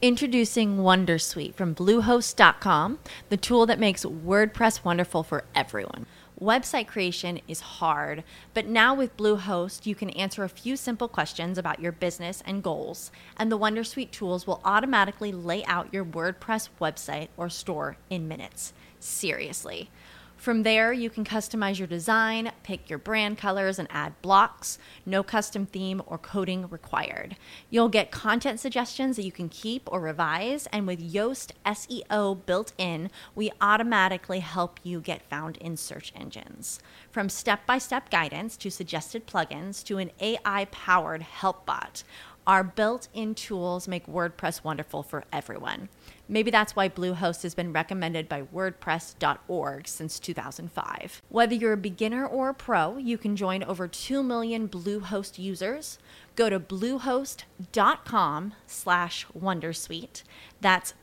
Introducing Wondersuite from Bluehost.com, the tool that makes WordPress wonderful for everyone. Website creation is hard, but now with Bluehost, you can answer a few simple questions about your business and goals, and the Wondersuite tools will automatically lay out your WordPress website or store in minutes. Seriously. From there, you can customize your design, pick your brand colors, and add blocks. No custom theme or coding required. You'll get content suggestions that you can keep or revise, and with Yoast SEO built in, we automatically help you get found in search engines. From step-by-step guidance to suggested plugins to an AI-powered help bot, our built-in tools make WordPress wonderful for everyone. Maybe that's why Bluehost has been recommended by WordPress.org since 2005. Whether you're a beginner or a pro, you can join over 2 million Bluehost users. Go to bluehost.com/wondersuite. That's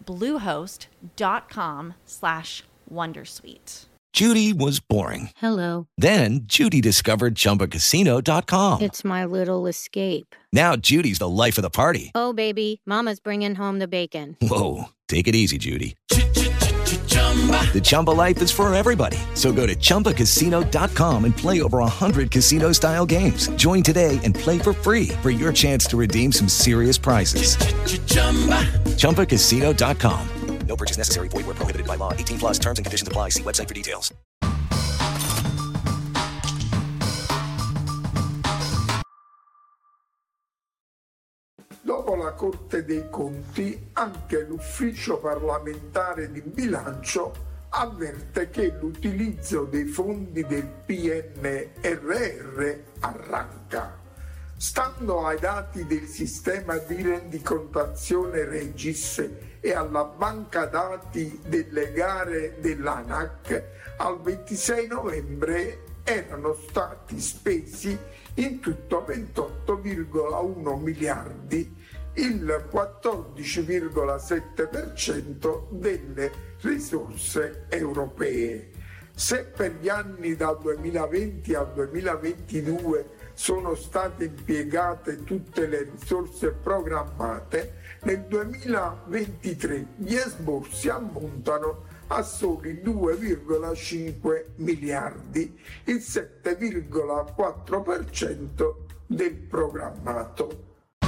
bluehost.com/wondersuite. Judy was boring. Hello. Then Judy discovered ChumbaCasino.com. It's my little escape. Now Judy's the life of the party. Oh, baby, mama's bringing home the bacon. Whoa, take it easy, Judy. The Chumba life is for everybody. So go to ChumbaCasino.com and play over 100 casino-style games. Join today and play for free for your chance to redeem some serious prizes. ChumbaCasino.com. No purchase necessary. Void where prohibited by law. 18 plus terms and conditions apply. See website for details. Dopo la Corte dei Conti, anche l'Ufficio parlamentare di bilancio avverte che l'utilizzo dei fondi del PNRR arranca. Stando ai dati del sistema di rendicontazione Regis e alla banca dati delle gare dell'ANAC, al 26 novembre erano stati spesi in tutto 28,1 miliardi, il 14,7% delle risorse europee. Se per gli anni dal 2020 al 2022 sono state impiegate tutte le risorse programmate, nel 2023 gli esborsi ammontano a soli 2,5 miliardi, il 7,4% del programmato.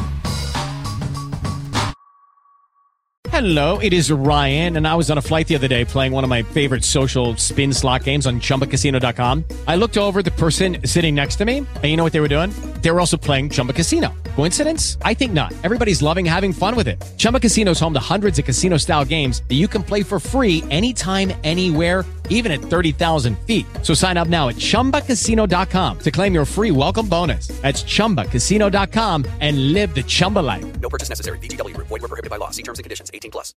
Hello, it is Ryan, and I was on a flight the other day playing one of my favorite social spin slot games on ChumbaCasino.com. I looked over at the person sitting next to me, and you know what they were doing? They were also playing Chumba Casino. Coincidence? I think not. Everybody's loving having fun with it. Chumba Casino is home to hundreds of casino-style games that you can play for free anytime, anywhere, even at 30,000 feet. So sign up now at ChumbaCasino.com to claim your free welcome bonus. That's ChumbaCasino.com and live the Chumba life. No purchase necessary. VGW Group. Void where prohibited by law. See terms and conditions. 18 plus.